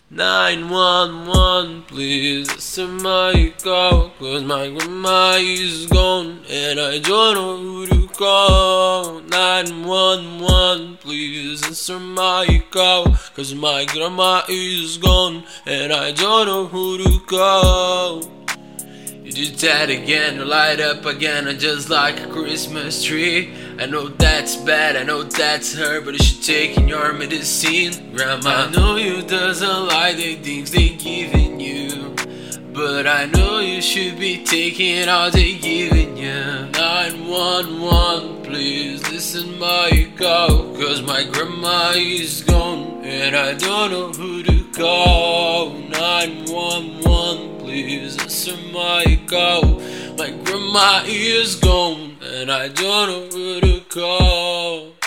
911, please answer my call, 'cause my grandma is gone and I don't know who to call. 911, please answer my call, 'cause my grandma is gone and I don't know who to call. You did that again, light up again, just like a Christmas tree. I know that's bad, I know that's her, but you should take in your medicine, Grandma. I know you doesn't like the things they giving you, but I know you should be taking all they giving you. 911, please listen my call, 'cause my grandma is gone and I don't know who to call. 911, please answer my call. My grandma is gone and I don't know who to call.